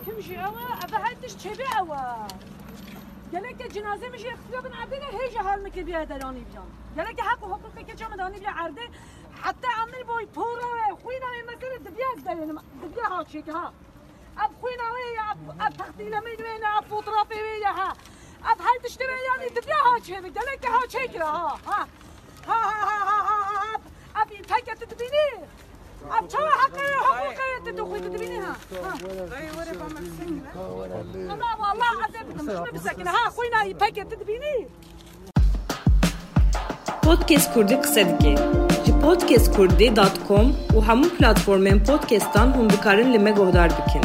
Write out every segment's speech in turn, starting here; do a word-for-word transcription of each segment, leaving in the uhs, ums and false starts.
كم شيء أوا أفهمتش شبي أوا قالك الجنازة مش يختلف من عبدنا هيج حال مكي بيا دلاني بيان قالك حق وحقوق كي جام داني بيا عرضه حتى عمل بوي بورا خوينا مثلا دبياز دلنا دبيا هاك شيك ها اب خوينا ويا اب تخديله من وين اب فوترافي ويا ها اب هل تشتري يعني دبيا هاك شيء قالك ها شيك ها ها ها ها ها ابي تاكت تبيني اب شو حقي حقوقي تدخل تبينيها اي ورا بمسين لا والله عذبت مش مسكين ها خوينا يباكت تبيني Podcast Kurdi kısa dike. Ji podcast kurdi dot com û hemû platformên podcastan hûn dikarin li me guhdar bikin.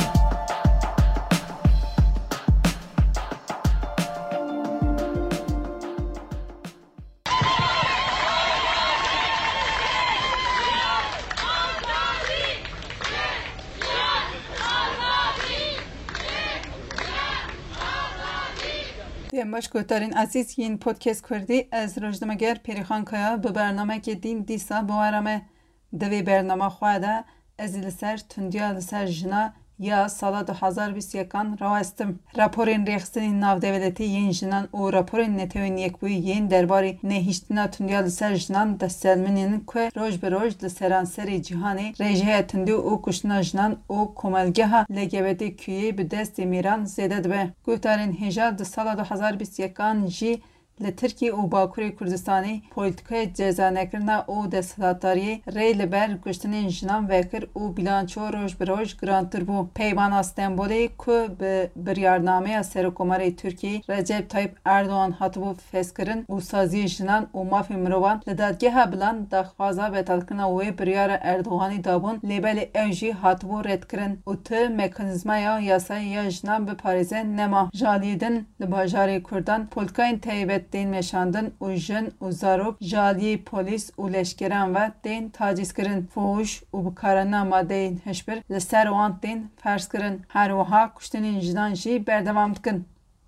باش گوتارین عزیز این پودکست کردی از روزنامه‌گر پریخان کایا به برنامه که دین دیسا باورمه دوی برنامه خواهده از لسر تندیا لسر جنا یا سال دو هزار و بیست و یک راستم راپورین ریخستنی ناو دولتی ین جنان و راپورین نتوین یک بوی ین درباری نهیشتنا تندیا لسر جنان دستلمنین که روز به روز لسران سری جهانی رژه تندیو و کشتنا جنان و کمالگه ها لگبتی کیه به دست میران زیده دبه گوتارین هجار دو سال دو هزار و بیست و یک جی لترکی و باکوری کردستانی پولیتیکای جزا نکرنا و دستاتاری ری لبر گشتن جنان وکر و بیلانچو روش بروش گرانتر بو پیمان استنبولی که به بریارنامه سرکوماری ترکی رجب طیب اردوان هاتبو فسکرن و سازی جنان و مافی مروان لدادگه ها بلان دخوازا بتالکنا و بریار اردوغانی دابون لیبل اوجی هاتبو رد کرن و ته مکانیزما یا یاسای یا جنان به پاریزه نما جالیدن لباجاری کردان پولیتیکای تایبت دین مشاندن و جن و زاروک جالی پولیس و لشکران و دین تاجیز کرن فوش و بکارنا ماده هشبر لسر وان دین فرض کرن هر وها کشتنین جنان جی بردوام کن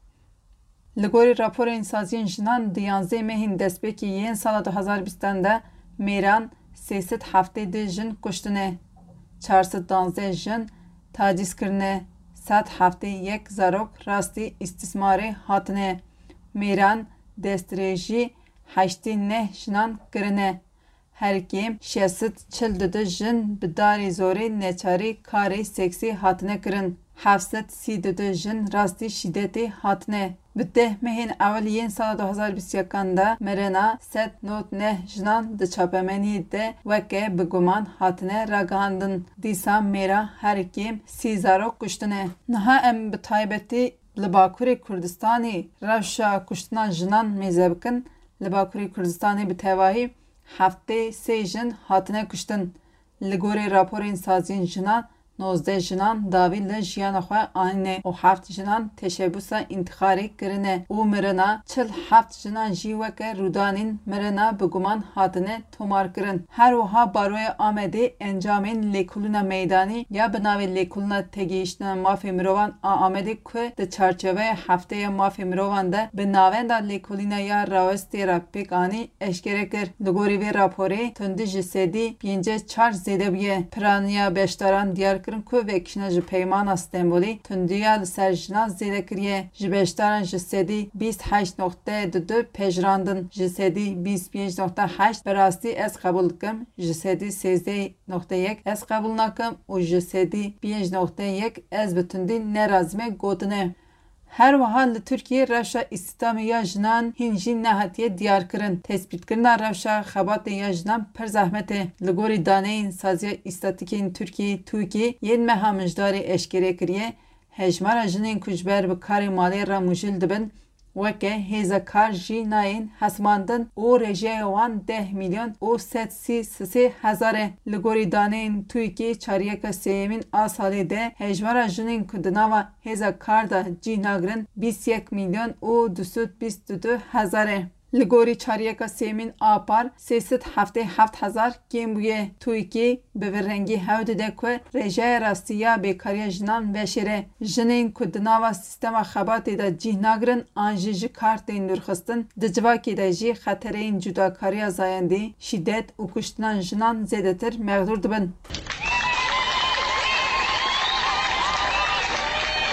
لگوری راپور انسازی جنان دیانزه مهین دست به که یین سال دو هزار و بیست ده میران سیصد هفته ده جن کشتنه چهارصد و دانزده جن تاجیز کرنه صد هفته یک زاروک راستی استثماری هاتنه میران دستریجی هشتی نه جنان کرنه هر کیم شصت چل دو جن بداری زوری نچاری کاری سکسی هاتنه کرن هفتصد سی دو جن راستی شدتی هاتنه بده مهین اولیین سال دو هزار و بیست و یک ده مرنا صد نود نه جنان د چاپمنی ده وکه بگمان هاتنه راگاندن دیسا میرا هر کیم سی زارو کشتنه نها ام بتایبتی لباکوری کردستانی روشا کشتنا جنان میزبکن لباکوری کردستانی به تواهی هفته سه جن هاتنه کشتن لگوری راپورین سازین جنان نوزده جنان داوی لجیان خواه آنه و هفت جنان تشبوسا انتخاری کرنه و مرنا چل هفت جنان جیوکه رودانین مرنا بگمان هاتنه تومار کرن هر وها باروی آمده انجامین لیکولونا میدانی یا بناوی لیکولونا تگیشتنا مافی مروان آمده که ده چارچوه هفته مافی مروان ده به ناوین دا لیکولینا یا راوستی را پیک آنی اشکره کر لگوری وی راپوری تندی جسدی بینجه چار زیده بیه پرانیا بشتاران دیار کرن که وکشنه جی پیمان استنبولی تندیا لسر جنا زیده کریه جبشتاران جسدی بیست و هشت نقطه دو دو پجراندن جسدی بیست و پنج نقطه هشت براستی از قبول کم جسدی سیزده نقطه یک از قبول نکم و جسدی پنج نقطه یک از بتندی نرازمه گودنه هر وحال ترکیه روشا استیدام یا جنان هنجی نهاتیه دیار کرن تثبیت کرنا روشا خبات یا جنان پر زحمته لگوری دانه این سازی استاتیکین ترکیه توکی ین مهامجداری اشکره کریه هجمار جنین کجبر به کار مالی را مجل دبن وکه هیزا کار جی ناین حسماندن او رژه وان ده میلیون او ست سی سی هزاره لگوری دانین توی که چاریه که سیمین آسالی ده هجمارا جنین کدناوا هیزا کار دا جی ناگرن بیست و یک میلیون او دویست و بیست و دو هزاره لگوری چاریه که سیمین آپار سیصد و هفتاد و هفت هزار کم بویه توی که به ورنگی هود ده که رژه راستی یا بیکاری جنان وشیره جنین کدناوا سیستم خباتی دا جی ناگرن آنجی جی کارت این درخستن دجواکی دا جی خطر این جداکاری زایندی شدت و کشتنان جنان زیده تر مغدور دبن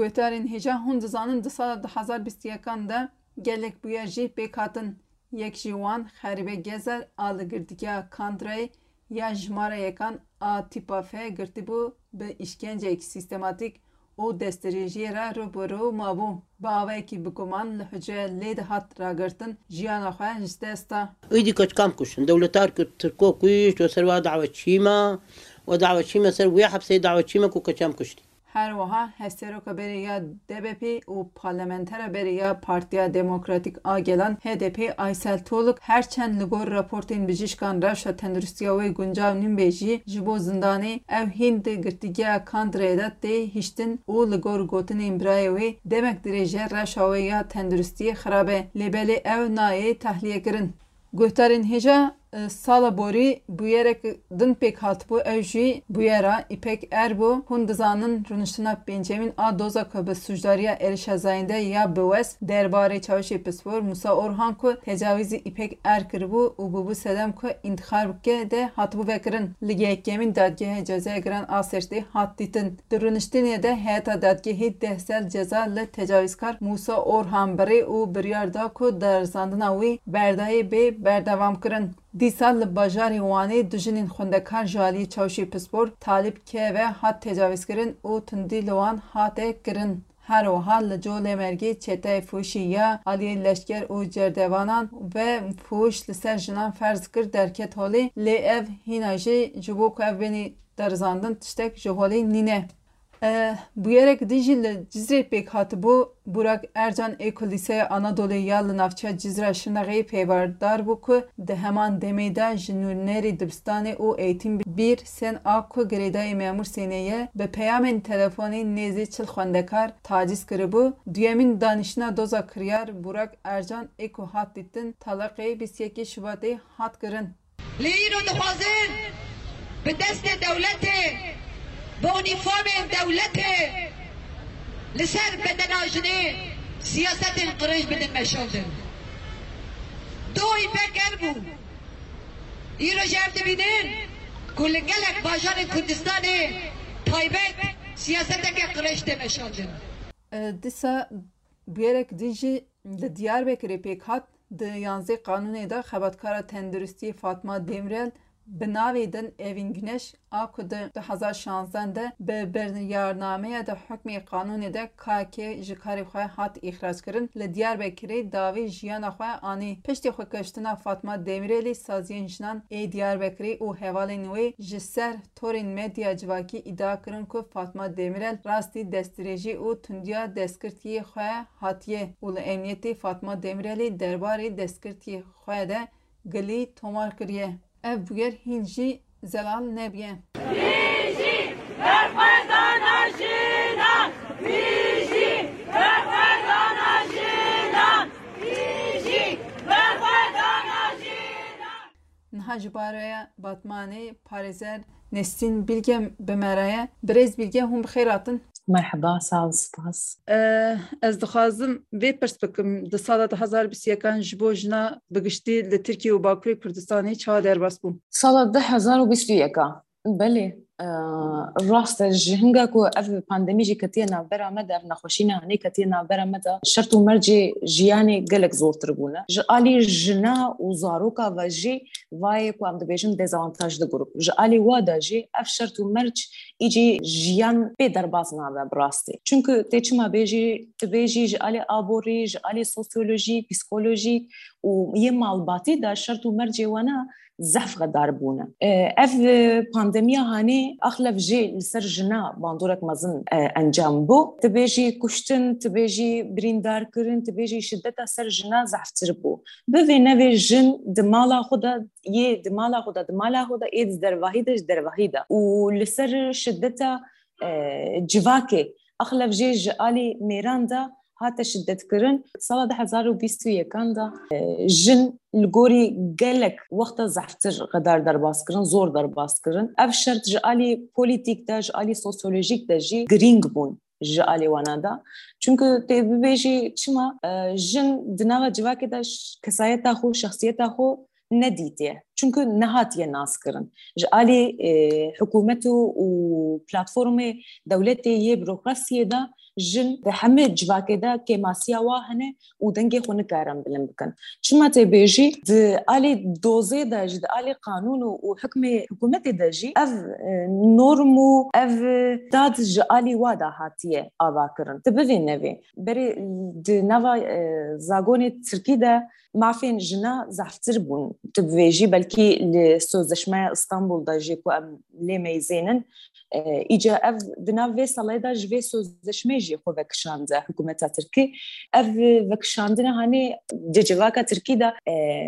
گوهدارین هجا هون دزانن ده سال ده هزار بیست و یکان ده gelek bu yer jî pêkhatin yek jî wan xerîbe gezer a li girtiya Kandrayê ya jmara yekan a tîpa F girtibû bi îşkenceyekî sîstematîk û destdirêjiyê re rûbirû mabû. Bi avayekî biguman li hucreyê lê dihat ragirtin jiyana xwe ji desta. ويدي كوت كام كوشن دولتار كوت تركو كويش وسروا دعوة شيما ودعوة شيما سر ويا حبسي دعوة شيما كو كام كشتي. Her wiha hesteroka beri ya D B P û parlamentera beri ya Partiya Demokratîk a gelan H D P Aysel Toluk herçend li gor raportên bijîşkan rewşa tendurustiya wê guncav nîmbê jî ji bo zindanê ew hîn di girtîgeya Kandrayê de tê hîştin û li gor gotinên birayê wê demek dirêje rewşa wê ya tendurustiyê xirabe lêbelê ew nayê tehliyekirin. Guhdarên hêja sala borî bûyerek din pêk hatibû ew jî bûyera İpek Erbû hûn dizanin rûniştina pêncemîn a doza ku bi sujdariya êrişa zayîn de ya bi wes derbarê çavuşê pispor Musa Orhan ku tecavîzê İpek Er kiribû û bûbû sedem ku întixarbike de hatibû vekirin. Li yekemîn dadgehê cezaya giran a sertê hat dîtin. Di rûniştinê de heyeta dadgehê deh sal ceza li tecavîzkar Musa Orhan birê û biryar da ku derzandina wî berdayê bê berdevam kirin. Dîsal li bajarê Wanê du jinên xwendekar ji aliyê çavuşê pispor Talîb K ve hat tecavîzkirin û tundî li wan hate kirin. Her wiha li Colemêrgê çeteyê fûşî ya aliyê leşker û cerdevanan ve fûş li ser jinan ferz kir derket holê lê ev hîna jî ji bo ku ev benî derzandin tiştek ji holê nîne. Bûyerek dijî li Cizrê pêk hatibû Burak Ercan Êko Lîseya Anadolu'ya ya li navçeya Cizre Şirnexeyê pêvardar bû ku di heman demê de ji nûnerê dibistanê û eğitim bir sen a ku girêdayê memûr sêneye bi peyamên telefonê nêzî çil xwendekar taciz kiribû. Duyemîn danîştina doza kiryar Burak Ercan Êko hat dîtin talaqê bîst û yekê Şubatê hat kirin. Li îro dixwazin bi destê dewletê bi unîformên dewletê li ser bedena jinê siyasetên qirêj bidin meşaldin. Do İpek Erbû îro ji ev dibînin ku li gelek bajarên Kurdistanê taybet siyaseteke qirêj de meşaldin. Dîsa bûyerek dijî li Diyarbekirê pêk hat di yanzê qanûnê de xebatkara tenduristiyê Fatma Demirel bi navê din Evîn Güneş a ku di du hezar şanzdeh de bi biryarnameya de hukmê qanûnê de K K ji karê xwe hat îxrac kirin. Li Diyarbekirê davê jiyana xwe anî. Piştî xwekiştina Fatma Demirelê saziyên jinan ê Diyarbekirê û hevalên wê ji ser torên medya civakî îdia kirin ku Fatma Demirel rastî destdirêjî û tundiya destgirtiyê xwe hatiye û li emniyetê Fatma Demirelê derbarê destgirtiyê xwe de gilî tomar kiriye. Ev bûyer hîn jî zelal nebiye. Bijî berxwedana jinan, bijî berxwedana jinan, bijî berxwedana jinan. Niha ji baraya Batmanê Parêzer Nesrîn Bilge bi me re ye. Birêz Bilge hûn bi xêr hatin. Merhaba, sağ ol, spas. Ez dixwazim vê pirs bikim di sala du hezar bîst û yekan ji bo jina bigiştî li Tirkiye û Bakurê Kurdistanê çawa derbas bû. Sala du hezar û bîst û yeka. Belê. rast ji hinga ku ev pandemî jî ketiye navbera me de ev nexweşîna hanê ketiye navbera me de şert û mercê jiyanê gelek zortir bûne. Ji alî jina û zaroka ve jî vayê ku em dibêjin dezavantajli grup. Ji alî wa de jî ev şert û merc îcî jiyan pê derbas nabe bi rastî. Çünkü tê çima bêjî dibêjî ji alî aborî, ji alî sosyolojî, psikolojî û yê malbatî de şert û mercê wana zef qedar bûne. Ev pandemiya hanê axlev jê li ser jina bandorek mezin encam bû. Tibêjî kuştin, tibêjî birîndarkirin, tibêjî şiddeta ser jina zeftir bû. Bi vê nevê jin di mala xwe de yê di mala xwe de di mala xwe de ê di dervahî de ji dervahî de. û li ser şiddeta civakê axlev jê ji alî mêran de hate şiddetkirin. Sala du hezar û bîst û yekan da jin li gorî gelek wexta zeftir qedar derbas kirin, zor derbas kirin. Ev şert ji alî polîtîk de, ji alî sosyolojîk de jî girîng bûn ji alî wana da. Çünkü tê bibêjî çima jin di nava civakê de kesayeta xwe, şexsiyeta xwe nedîtiye. çünkü nehatiye nas kirin ji alî hikûmet û platformê dewletê yê bürokrasiyê de jin di hemê civakê de kêmasiya wa hene û dengê xwe nikarin bilind bikin. Çima tê bêjî di alî dozê de jî di alî qanûn û hikmê hikûmetê de jî ev norm û ev dad ji alî wa da hatiye avakirin. Di bivê nevê berê di nava zagonê Tirkî de mafên jina zeftir bûn. Tu bivêjî belkî li Sözleşmeya İstanbul'da jî ku em lê meyzênin îca ev di nav vê salê de ji vê sözleşmeyê jî xwe vekişandiye hikûmeta Tirkî. Ev vekişandina hanê di civaka Tirkî de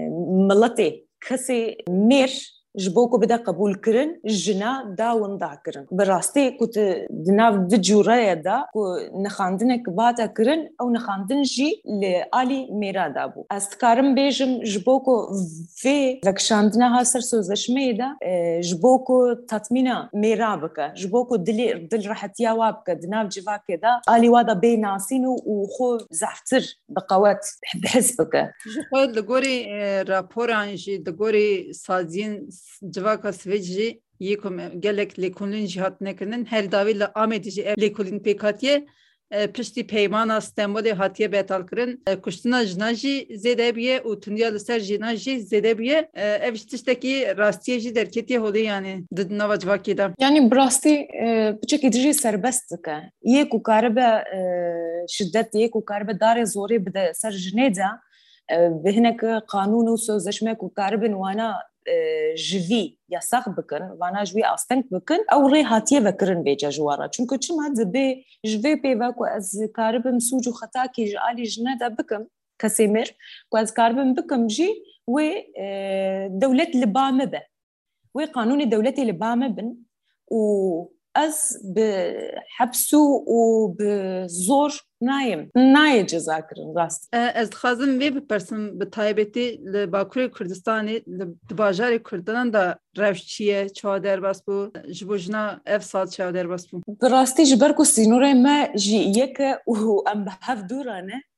miletê kesê mêr ji bo ku bide qebûl kirin jina dawin da kirin. Bi rastî ku tu di nav di cûreyê de ku nixandinek bata kirin ew nixandin jî li alî mêra da bû. Ez dikarim bêjim ji bo ku vê vekişandina ha ser sözleşmeyê de ji bo ku tatmîna mêra bike, ji bo ku dilê dil rahetiya wa bike di nav civakê de alî wa da bê nasîn û xwe zeftir bi qewet bihis bike. Ji xwe li gorî raporan jî di gorî saziyên civaka Swêd jî yê ku gelek lêkolîn jî hatine kirin her davê li Amedê jî ev lêkolîn pêk hatiye piştî peymana Stenbolê hatiye betal kirin. Kuştina jina jî zêde bûye û tundiya li ser jîna jî zêde bûye. Ev ji tiştekî rastiyê jî derketiye holê yani di nava civakê de. Yani bi rastî biçekî dijî serbest dike. Yê ku karibe şiddet yê ku karibe darê zorê bide ser jinê de bi hinek qanûn û sözleşme ku karibin wana ji vî yasak bikin, vana ji wî asteng bikin, ew rê hatiye vekirin bêca ji wara. Çünkü çima dibe ji vê pêve ku ez karibim sûc û xetakî ji alî jine de bikim, kesê mêr ku ez karibim bikim jî wê dewlet li ba me be. Wê qanûnê dewletê li ba me bin û ez bi hepsû û bi zor nayim. Nayê ceza kirin rast. Ez dixwazim vê bipirsim bi taybetî li Bakurê Kurdistanê li di bajarê Kurdistanan da rewş çi ye, çawa derbas bû, ji bo jina ev sal çawa derbas bû. Bi rastî ji ber ku sînorê me jî yeke û em bi hev dûran e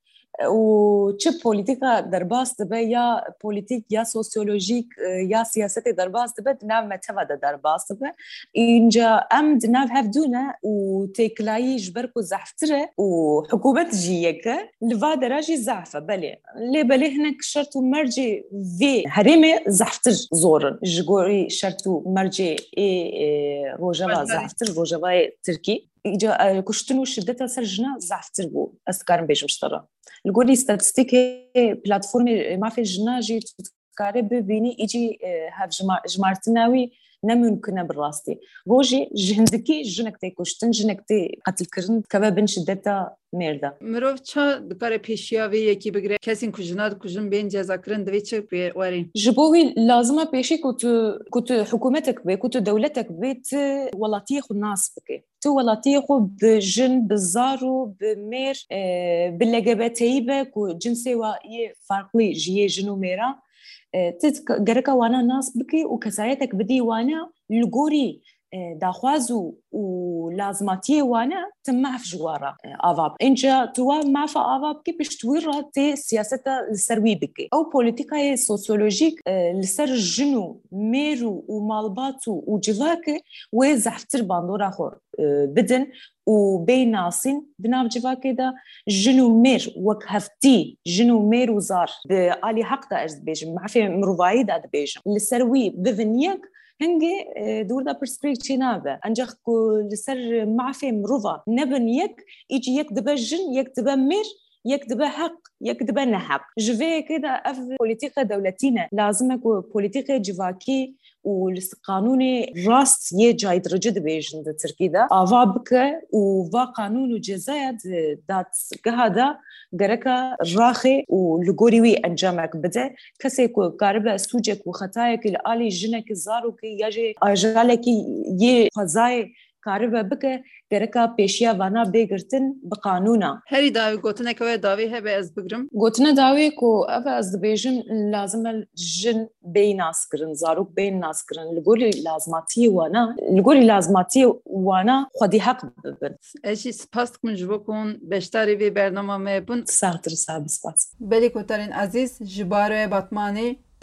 û çi polîtîka derbas dibe ya polîtîk ya sosyolojîk ya siyasetê derbas dibe di nav me teva de derbas dibe. Înca em di nav hev dûne û têkilayî ji ber ku zeftir e û hikûmet jî yeke li va dera jî zef e belê. Lê belê hinek şert û mercê vê herêmê zeftir zorin ji gorî şert û mercê ê rojava zeftir rojavayê Tirkî. İca kuştin û şiddeta ser jina zeftir bû. Ez dikarim bêjim ji te re. Li gorî statîstikê platformê mafê jina jî tu dikarî bibînî îcî hev jimartina wî nemûmkin e bi rastî. Rojê ji hindikî jinek tê kuştin, jinek tê qetilkirin dikeve bin şiddeta mêr de. Mirov ça dikare pêşiya vê yekî bigire kesên ku jina dikujin bên cezakirin divê çi pê werî? Ji bo wî lazima pêşî ku tu ku tu hikûmetek bê, ku tu dewletek bê tu welatiyê xwe nas bike. Tu welatiyê xwe bi jin, bi zar û bi mêr, bi L G B T'yî be ku cinsê wa yê farklî ji yê jin û mêran tu gereka wana nas bikî û kesayetek bidî wana li gorî daxwaz û lazmatiyê wane tu maf ji wara ava bikî. Înca tu wa mafa ava bikî pişt wî re tê siyaseta li ser wî bikî. Ew polîtîkayê sosyolojîk li ser jin û mêr û malbat û civakê wê zeftir bandora xwe bidin û bê nasîn di nav civakê de jin û mêr wek heftî jin û mêr û zar bi alî heq de ez dibêjim mafê mirovayî de dibêjim li ser wî bivin yek hingê dûr da pirsgirêk çê nabe. Encaq ku li ser mafê mirova nebin yek îcî yek dibe jin, yek dibe mêr, yek dibe heq, yek dibe neheq. Ji vê yekê de ev polîtîka dewletî ne. Lazim e ku polîtîkê civakî û li qanûnê rast yê caydirici dibêjin di Tirkî de ava bike û va qanûn û cezaya di dadgeha de gereka raxê û li gorî wî encamek bide. Kesê ku karibe sûcek û xetayekî li alî jinekî zarokî ya jê ajalekî yê xwezayê karibe bike gereka pêşiya vana bêgirtin bi qanûna. Herî davî gotinek we davî hebe ez bigirim. Gotina dawê ku ev ez dibêjim lazim e jin bê nas kirin, zarok bê nas kirin. Li gorî lazmatiyê wana, li gorî lazmatiyê wana xwedî heq bibin. Ez jî spas dikim ji bo ku hûn beşdarî vê bernama me bûn. Sağtir sağ bispas. Belê kotarên ezîz ji baroya Batmanê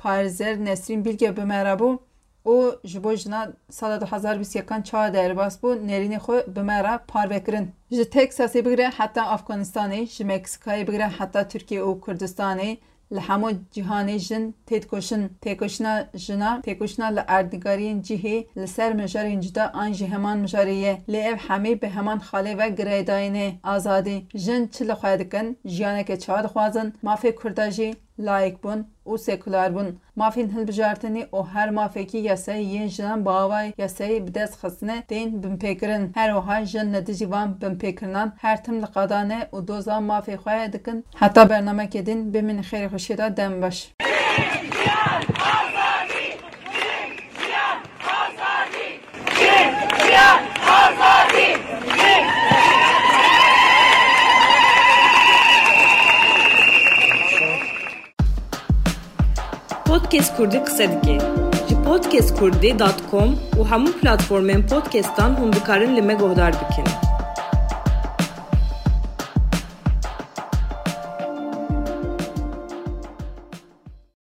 پارزر نسرین بیلگه بمرابو او جبو جنا سال دو هزار و بیست و یک چهار درباس بو نرین خو بمرا پار بکرن ج تکساسی بگیره حتی افغانستانی ج مکسیکایی بگیره حتی ترکیه و کردستانی لحمو جهانی جن تیدکوشن تیکوشنا جنا تیکوشنا لأردگارین جهی لسر مجارین جدا آن جهمان مجاریه لیف همی به همان خاله و گریداینه آزادی جن چل خواهدکن جیانه که چاد خوازن مافی کرداجی لایک بون و سکولار بون مافین هل بجارتنی او هر مافیکی یاسای ین جنان باوای یاسای بدست خسنه دین بمپیکرن هر وها جن ندیجی وان بمپیکرنان هر تم لقادانه و دوزان مافی خواه دکن حتی برنامه کدین بمین خیر خوشیدا دم باش پودکست کردی قصه دیگه جی پودکست کردی دات کام و همون پلتفرمین پودکستان هم بکارن لمه گهدار بکن